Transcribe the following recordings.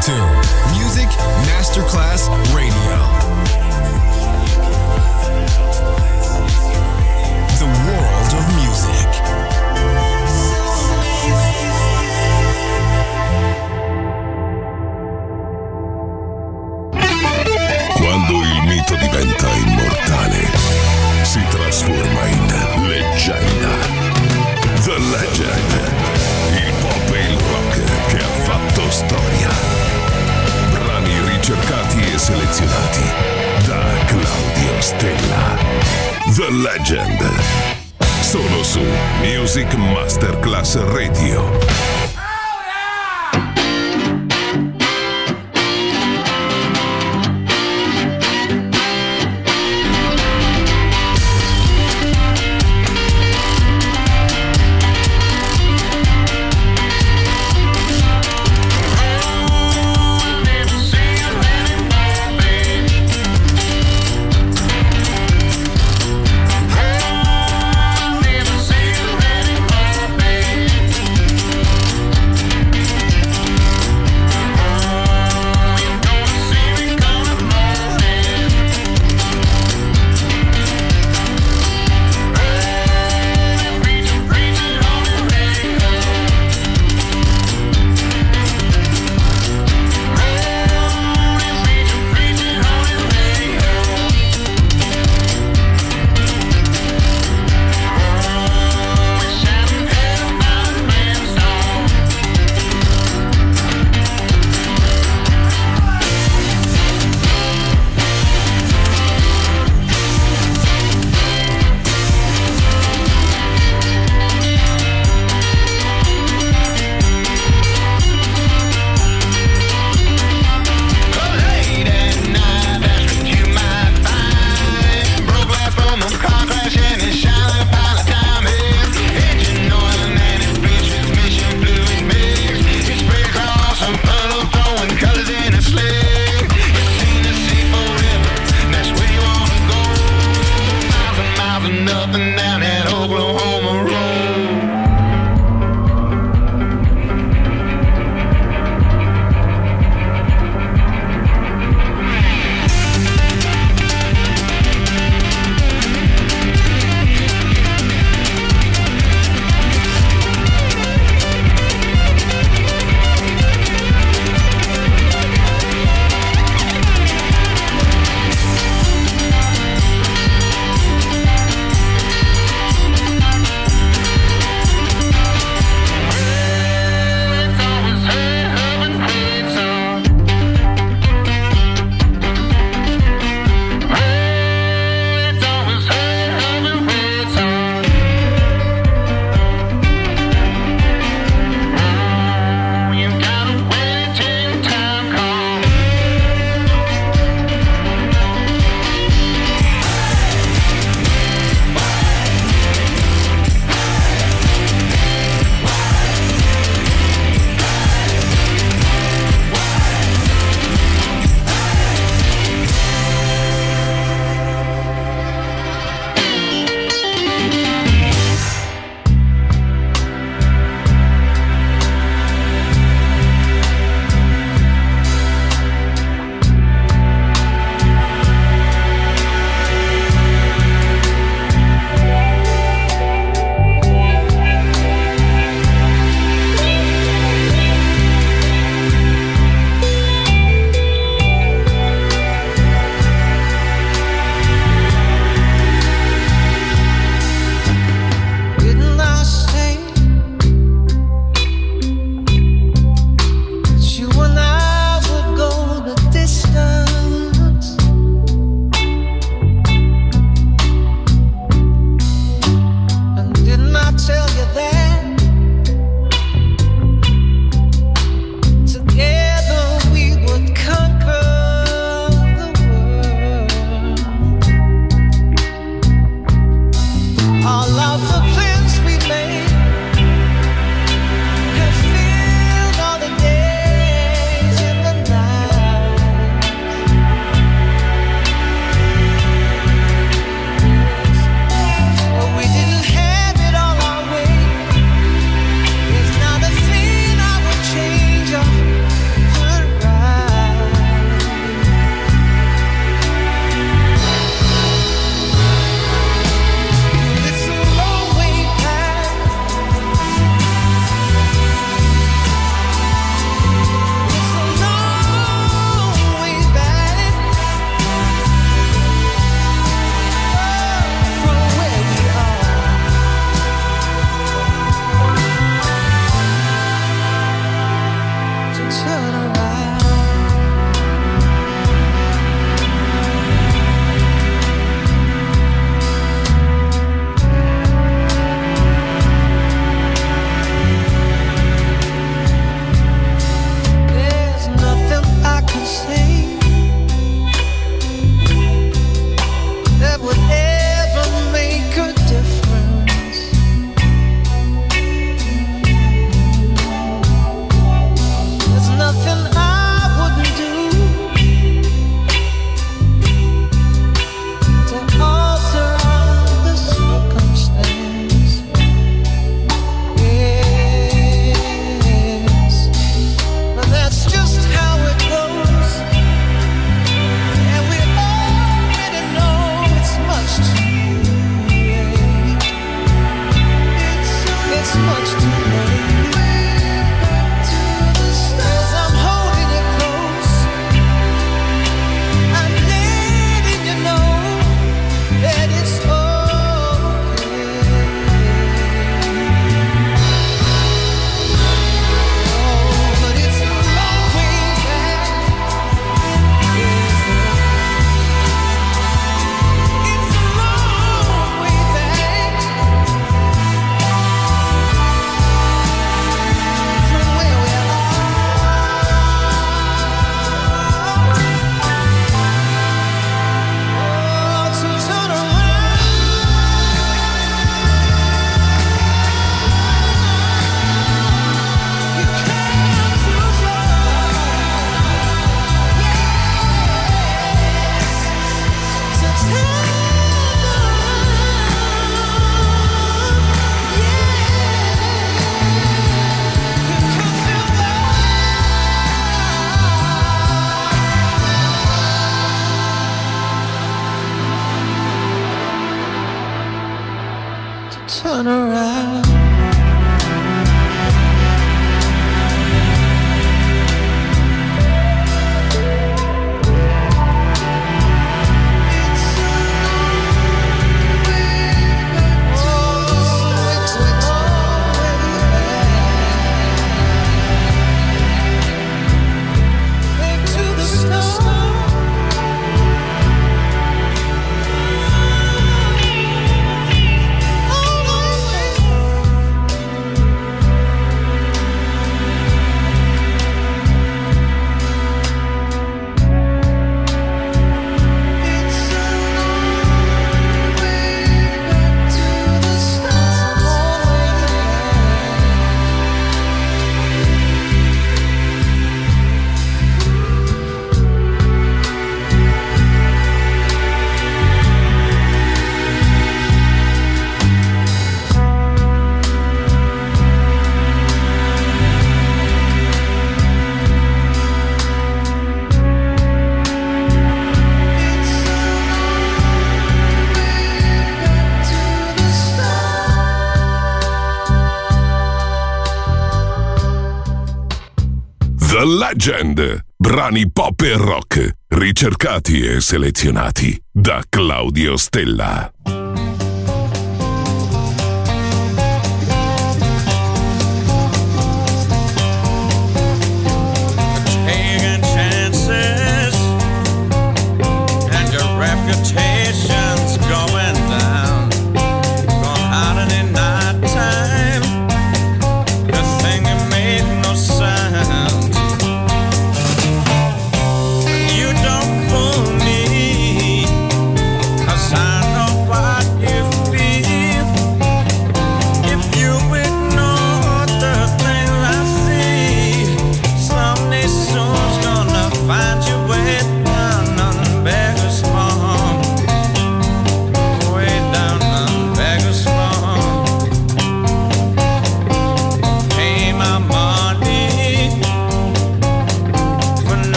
to Music Masterclass Radio. The world of music. Quando il mito diventa immortale, si trasforma in leggenda. The Legend, il pop e il rock che ha fatto storia. Brani ricercati e selezionati da Claudio Stella. The Legend, solo su Music Masterclass Radio. turn around. The Legend, brani pop e rock, ricercati e selezionati da Claudio Stella. Taking chances and your reputation's going down. Gone out in the night time. The thing that made no sound. You don't fool me, 'cause I know why.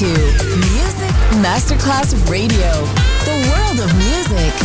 to Music Masterclass Radio, the world of music.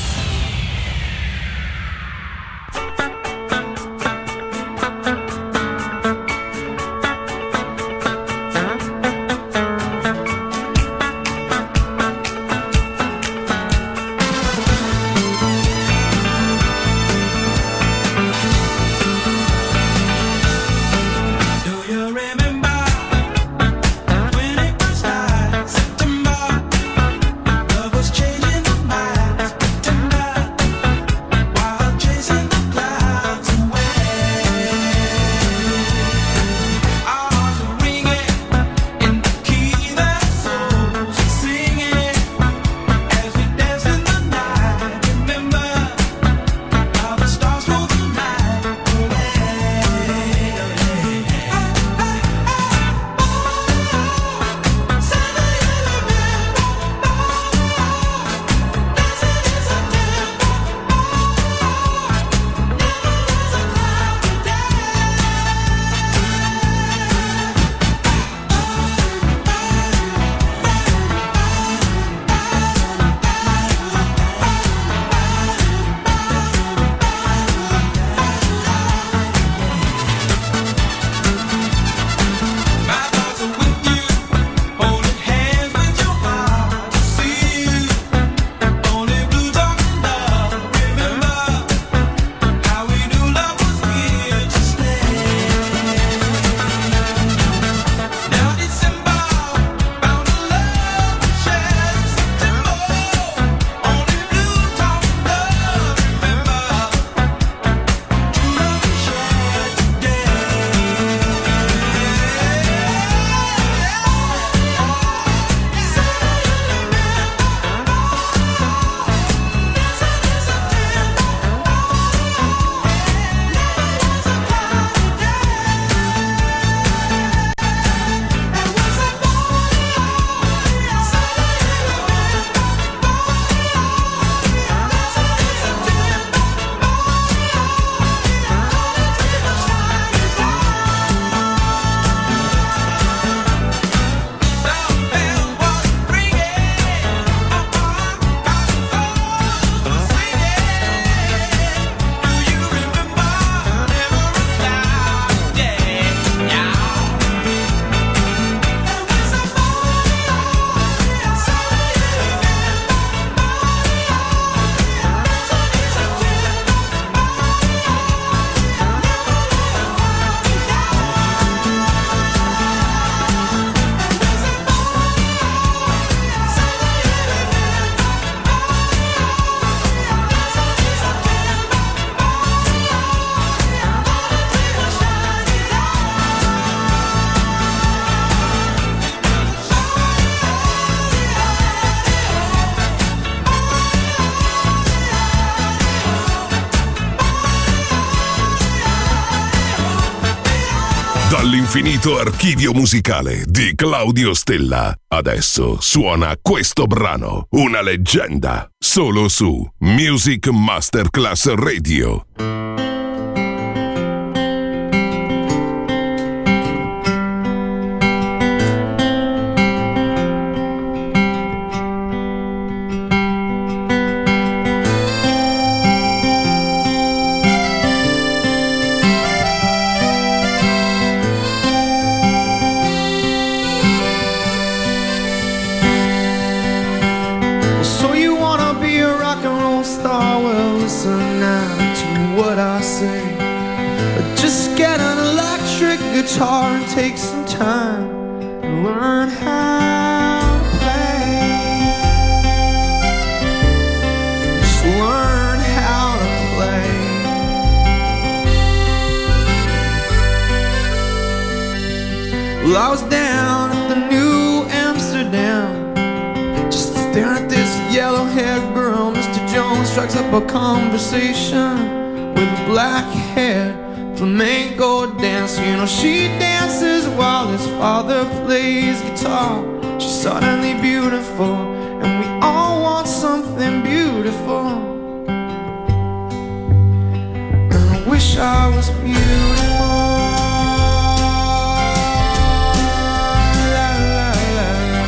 Dall'infinito archivio musicale di Claudio Stella. Adesso suona questo brano, una leggenda, solo su Music Masterclass Radio. Guitar and take some time to learn how to play. Just learn how to play. Well, I was down at the New Amsterdam, just staring at this yellow-haired girl. Mr. Jones strikes up a conversation with a black-haired flamenco dancer. You know, she dances while his father plays guitar. She's suddenly beautiful, and we all want something beautiful. And I wish I was beautiful. La, la, la, la.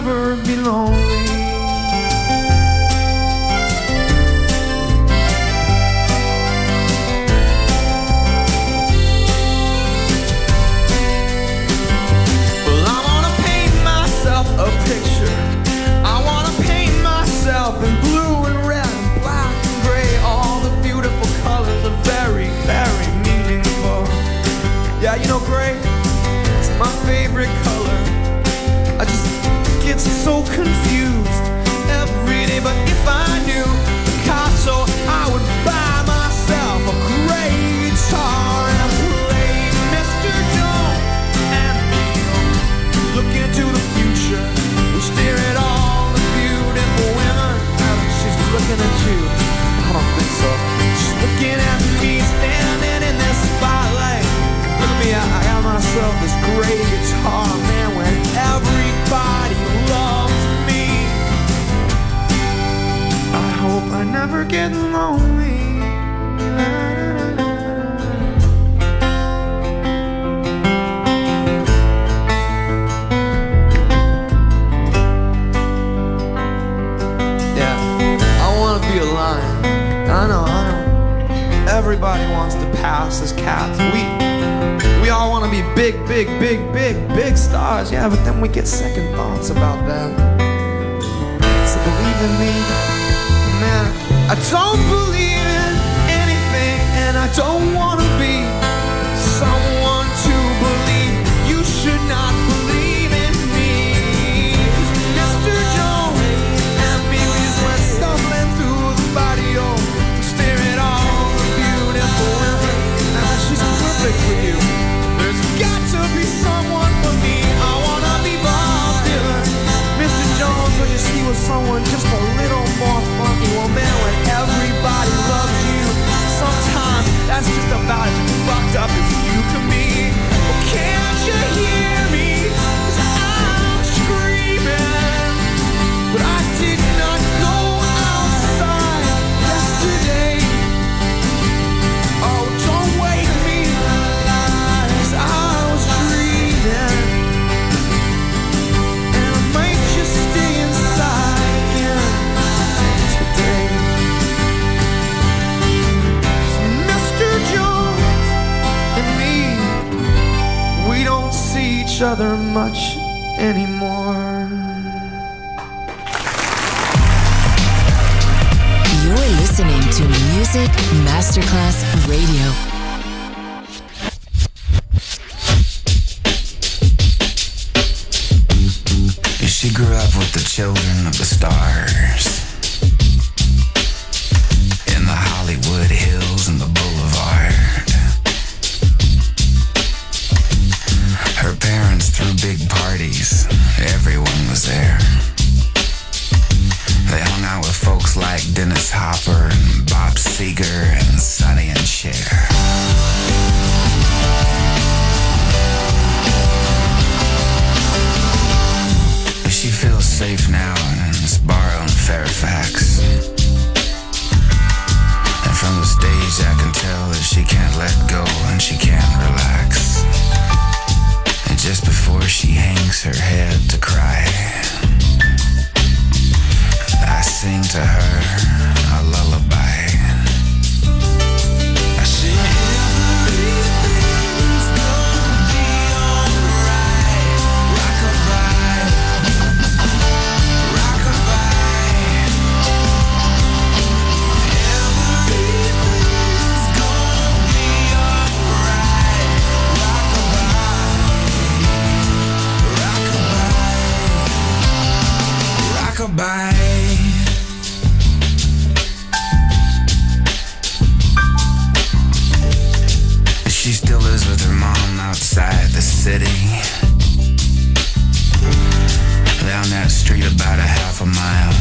never be lonely. Well, I wanna paint myself a picture. I wanna paint myself in blue and red and black and gray. All the beautiful colors are very, very meaningful. Yeah, you know gray, it's my favorite color. I just get so confused every day. But if I knew Picasso, I would buy myself a gray guitar and play Mr. Jones and me. Look into the future, we stare at all the beautiful women. She's looking at you, I don't think so. She's looking at me standing in this spotlight. Look at me, I got myself this gray guitar, man, when everybody loves me. I hope I never get lonely. Yeah, I wanna be a lion. I know. Everybody wants to pass as cats. We all want to be big stars, yeah, but then we get second thoughts about that. So believe in me, man, I don't believe in anything, and I don't want to be someone to believe. You should not believe in me. Mr. Jones and me, we just went stumbling through the barrio, staring at all the beautiful women, and she's perfect for you. There's got to be someone for me. I wanna be Bob Dylan. Mr. Jones, I just he was someone just a little more funky. Well, man, when everybody loves you, sometimes that's just about as fucked up as you can be. Well, can't you hear me? 'Cause I'm screaming, but I did not go outside yesterday. Oh, don't wake me. I was dreaming, and I might just stay inside again today. Mr. Jones and me, we don't see each other much anymore. You're listening to Music Masterclass Radio. She grew up with the children of the stars in the Hollywood Hills and the Boulevard. Her parents threw big parties. Everyone was there. They hung out with folks like Dennis Hopper and Bob Seger and Sonny and Cher. She feels safe now in this bar on Fairfax. And from the stage I can tell that she can't let go and she can't relax. And just before she hangs her head to cry, I sing to her a lullaby. I say, everything's gonna be alright. Rock-a-bye. Rock-a-bye. She still lives with her mom outside the city, down that street about a half a mile.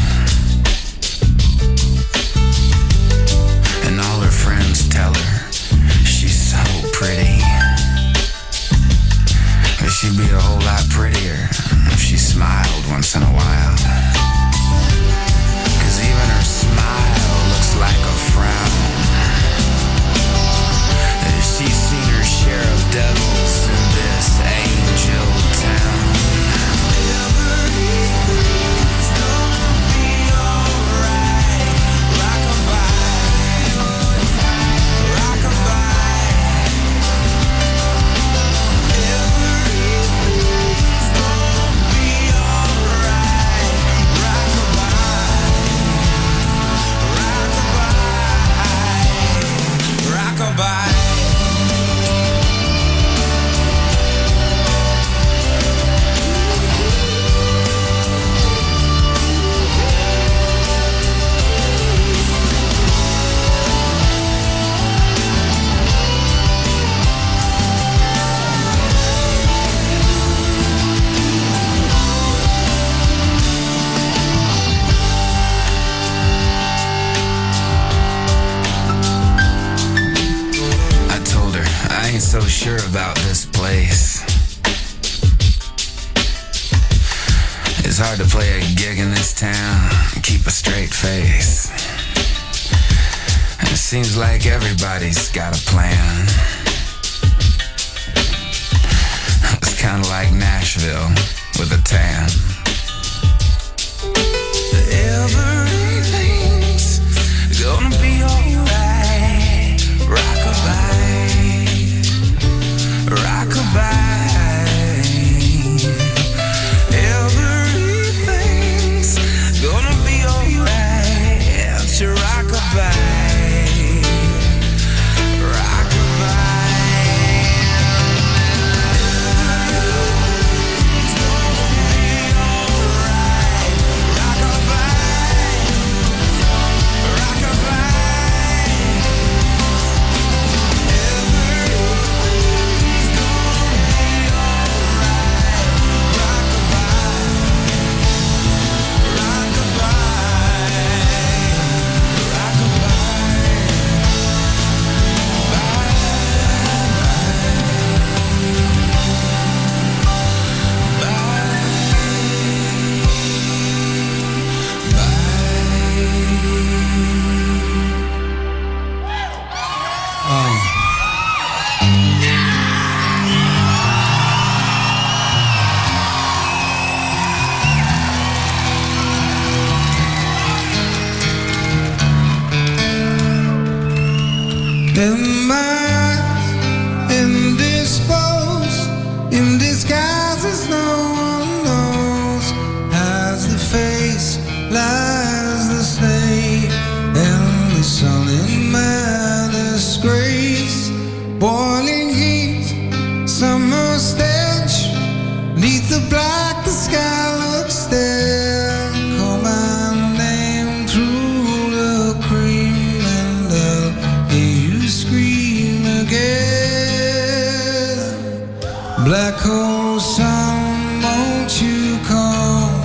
And all her friends tell her she's so pretty, but she'd be a whole lot prettier if she smiled once in a while. 'Cause even her smile looks like a frown. She's seen her share of devils in this angel town. Everything sure about this place. It's hard to play a gig in this town and keep a straight face. And it seems like everybody's got a plan. It's kind of like Nashville with a tan. Everything's gonna be alright. Rockabye, rockabye. Everything's gonna be alright. To rockabye. In my eyes, indisposed, in disguises no one knows, as the face lies the snake, and the sun in my disgrace, boiling heat, summer stench, neath the black the sky looks there, call my name through the cream and I'll hear you scream again. Black hole sun, won't you come,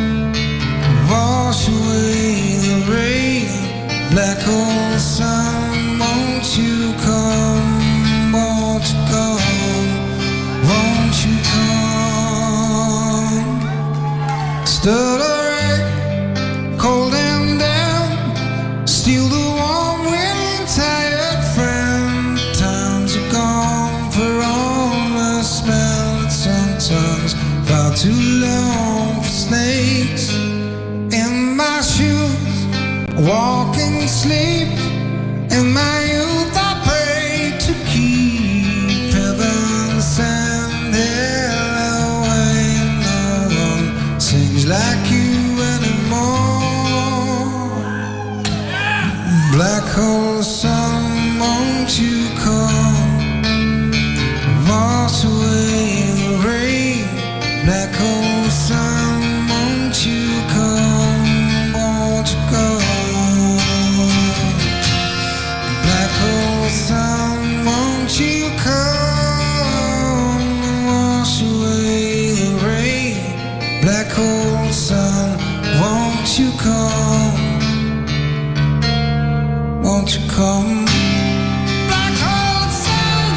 wash away the rain. Black hole sun, won't you come, won't you come, won't you come. Stuttering, cold and damp, steal the warm wind, tired friend. Times are gone for all the smell. It's sometimes far too long for snakes. In my shoes, walking sleep. In my youth I pray to keep heaven send hell away. No one sings like you anymore. Black hole sun, won't you come, wash away the rain. Black hole sun, won't you come, won't you come. Black hole sun, won't you come and wash away the rain. Black hole sun, won't you come, won't you come. Black hole sun,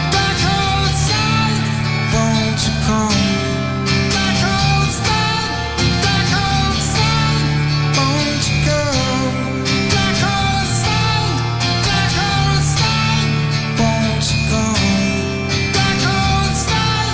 won't you come. Black hole sun, won't you come. Black hole sun, won't you come. Black hole sun,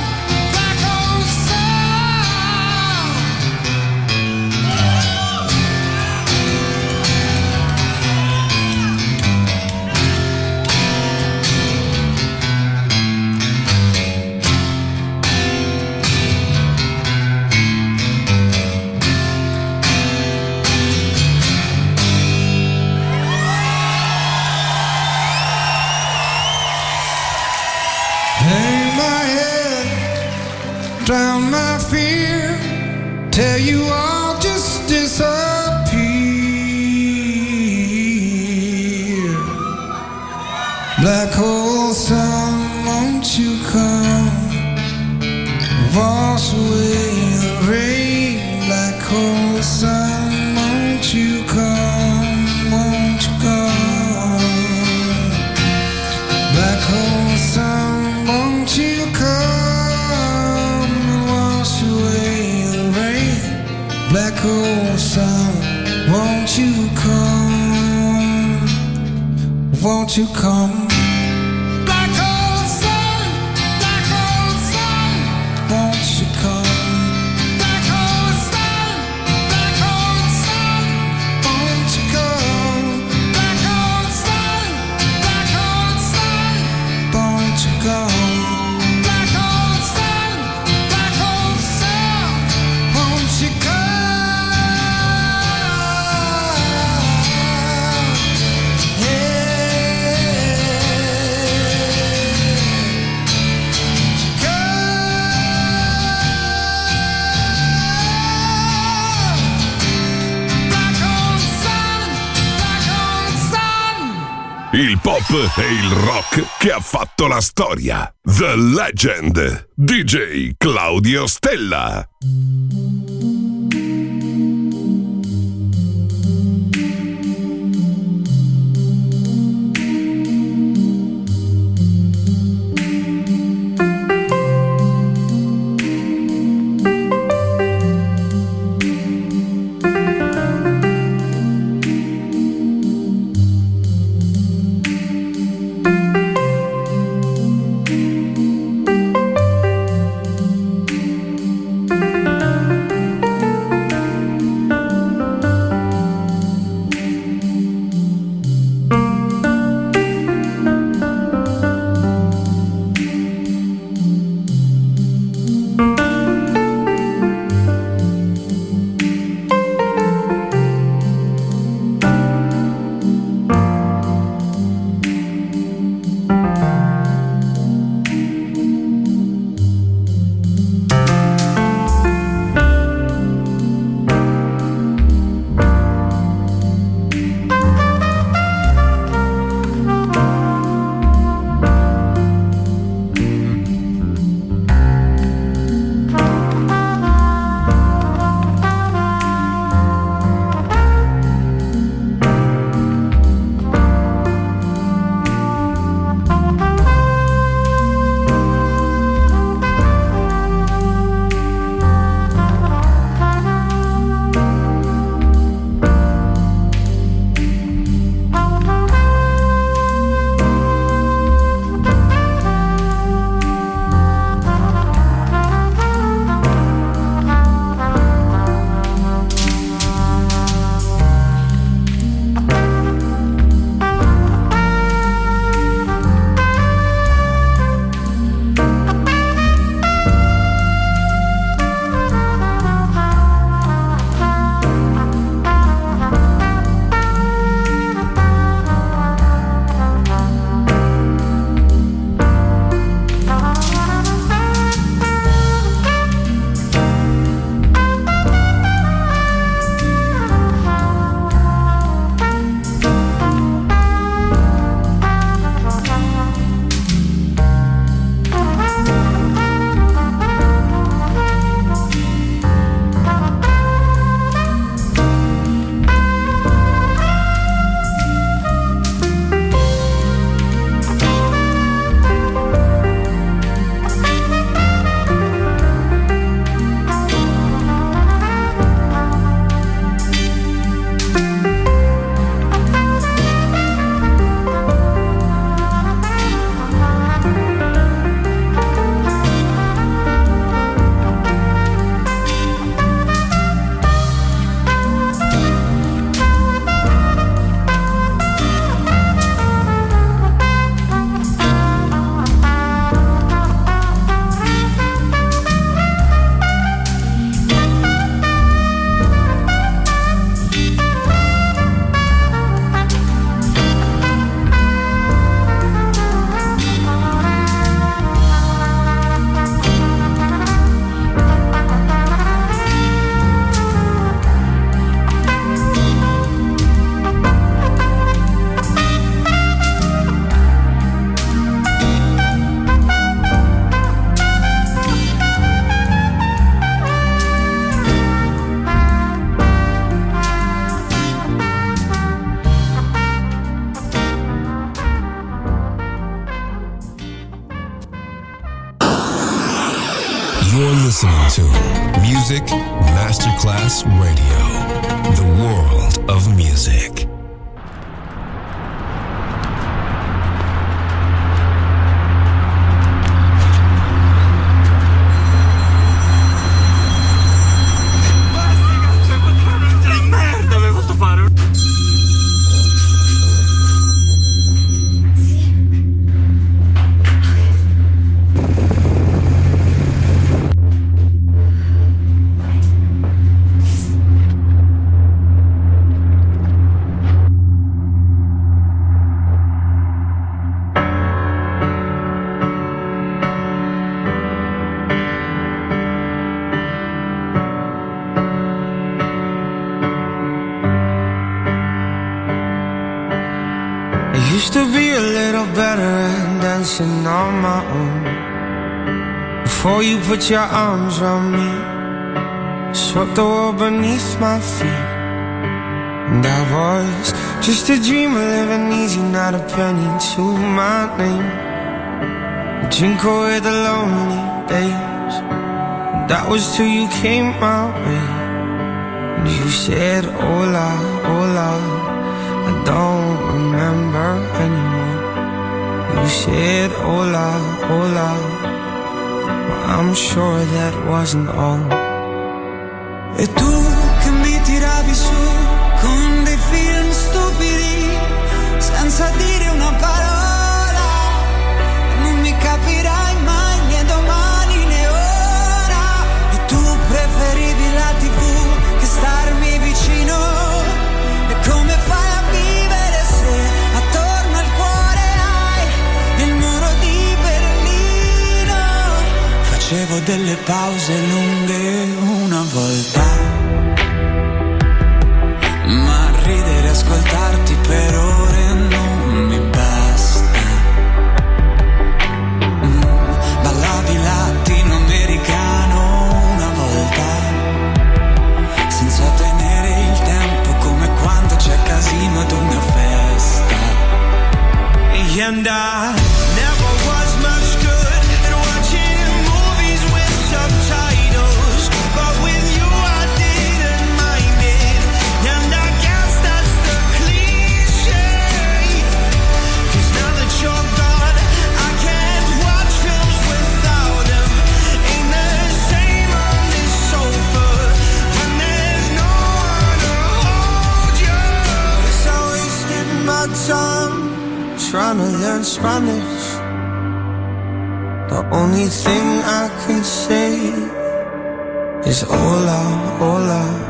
hang my head, drown my fear, tell you I'll just disappear. Black hole sun, won't you come, wash away the rain. Black hole sun, won't you come, won't you come. Black hole sun, won't won't you come? Black hole sun, won't you come? Black hole sun, won't you come? Black hole sun, won't you come? Black hole sun, won't you come? Il pop e il rock che ha fatto la storia. The Legend. DJ Claudio Stella. You're listening to Music Masterclass Radio, the world of music. Used to be a little better at dancing on my own. Before you put your arms around me, swept the world beneath my feet. And I was just a dreamer living easy, not a penny to my name. Drink away the lonely days. That was till you came my way. And you said, hola, hola. I don't remember anymore. You said, hola, hola. Well, I'm sure that wasn't all. E tu che mi tiravi su con dei film stupidi, senza dire una parola, non mi capirai mai né domani né ora. E tu preferivi la TV che starmi vicino. E come fai a vivere se attorno al cuore hai il muro di Berlino? Facevo delle pause lunghe una volta, ma ridere e ascoltarti per ore non mi basta. Ballavi latinoamericano una volta, senza tenere il tempo, come quando c'è casino ad una festa. And I never was much good at watching movies with subtitles, but with you I didn't mind it. And I guess that's the cliche, 'cause now that you're gone I can't watch films without them. Ain't the same on this sofa when there's no one to hold you. Guess I wasted my time trying to learn Spanish. The only thing I can say is hola, hola.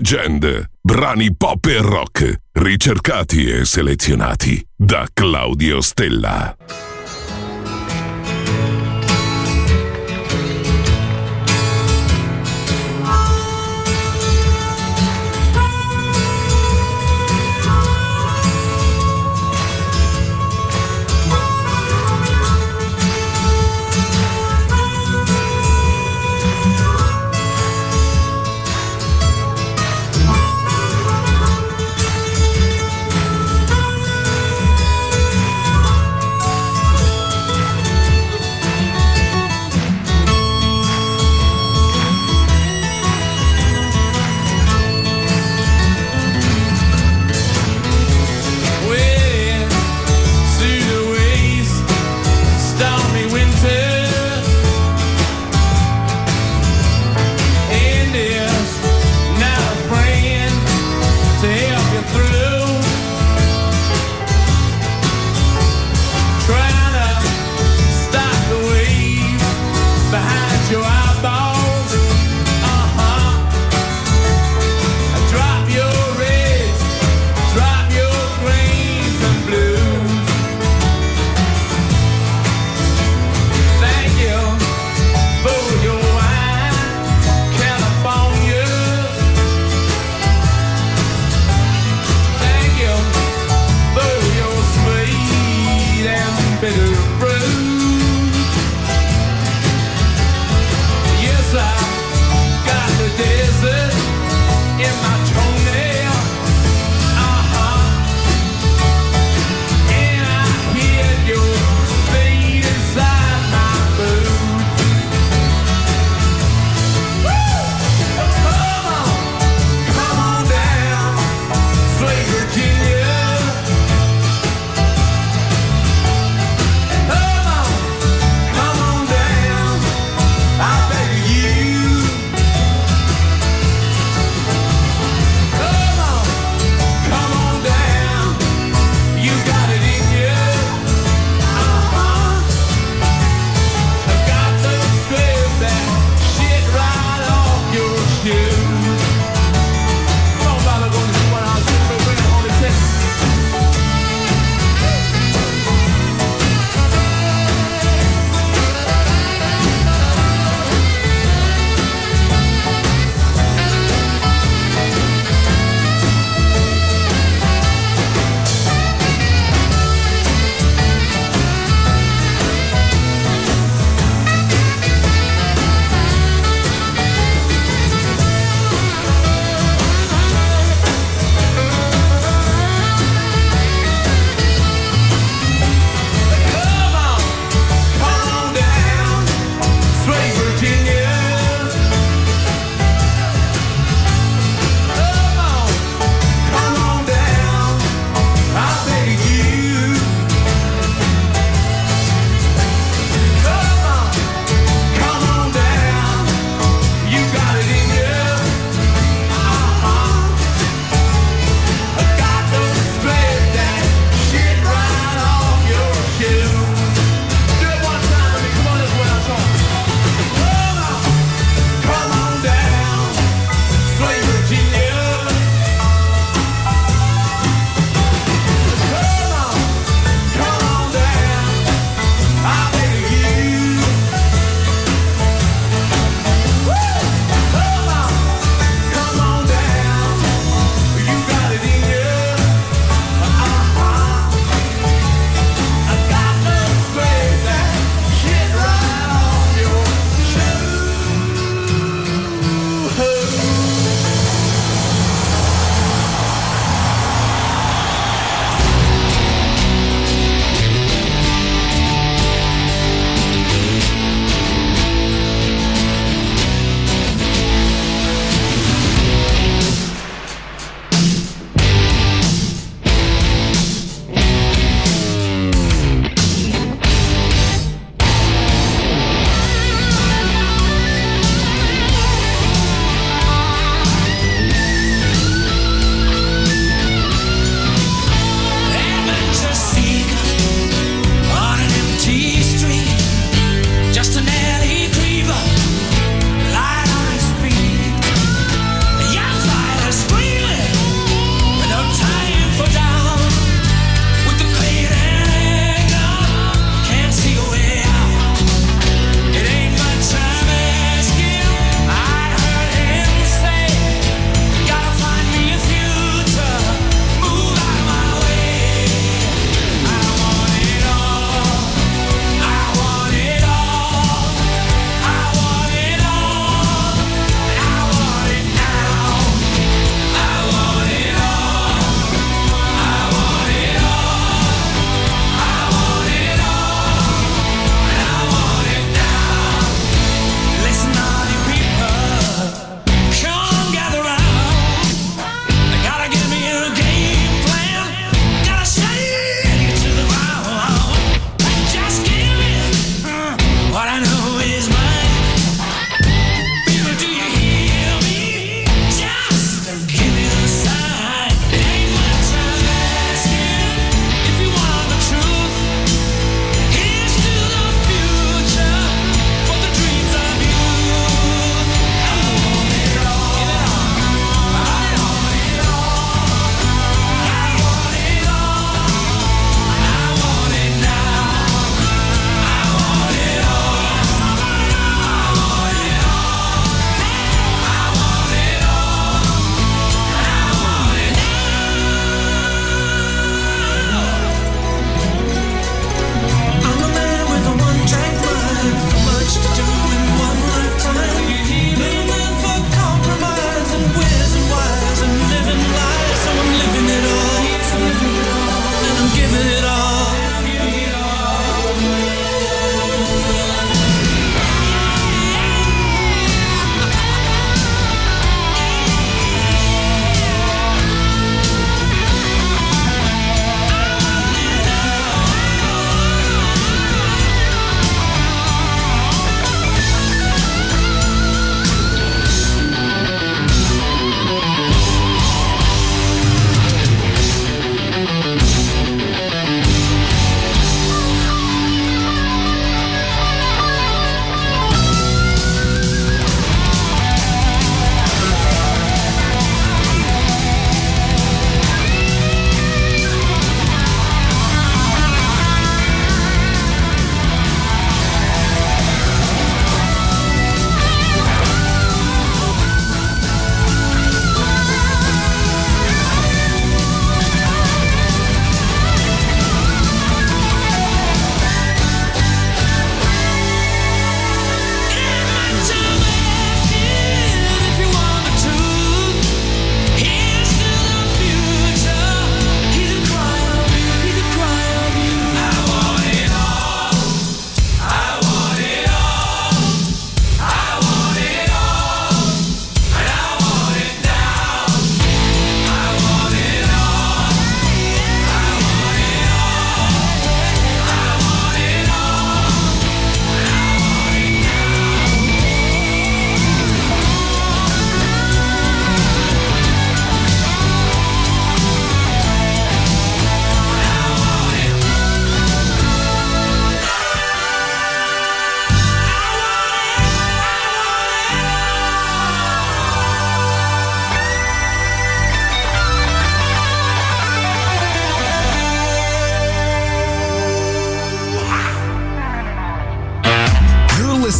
Legend, brani pop e rock, ricercati e selezionati da Claudio Stella.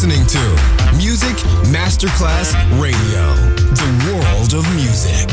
listening to Music Masterclass Radio, the world of music.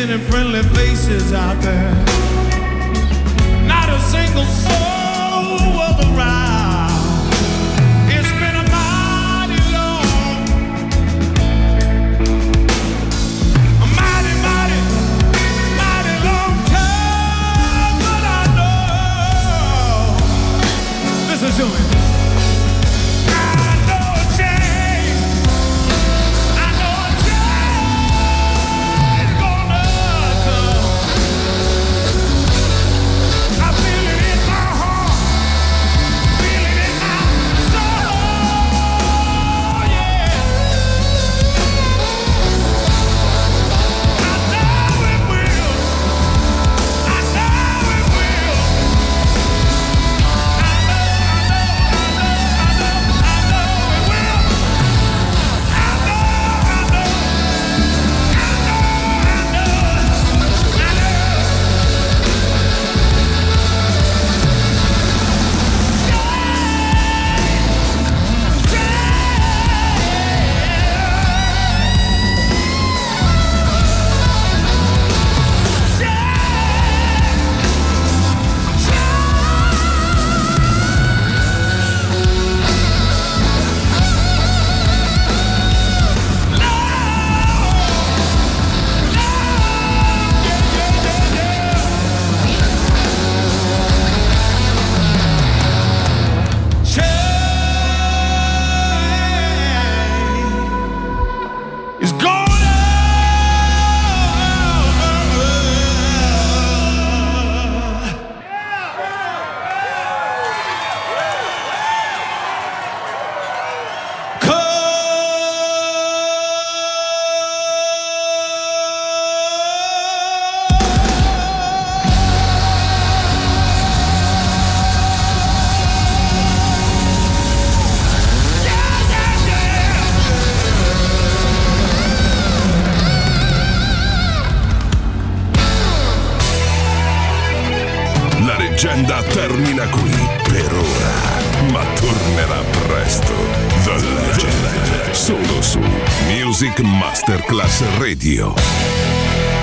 dancing and friendly faces out there. Not a single soul was around. It's been a mighty long, a mighty, mighty, mighty long time. But I know, listen to me. Termina qui per ora, ma tornerà presto. The Legend, solo su Music Masterclass Radio.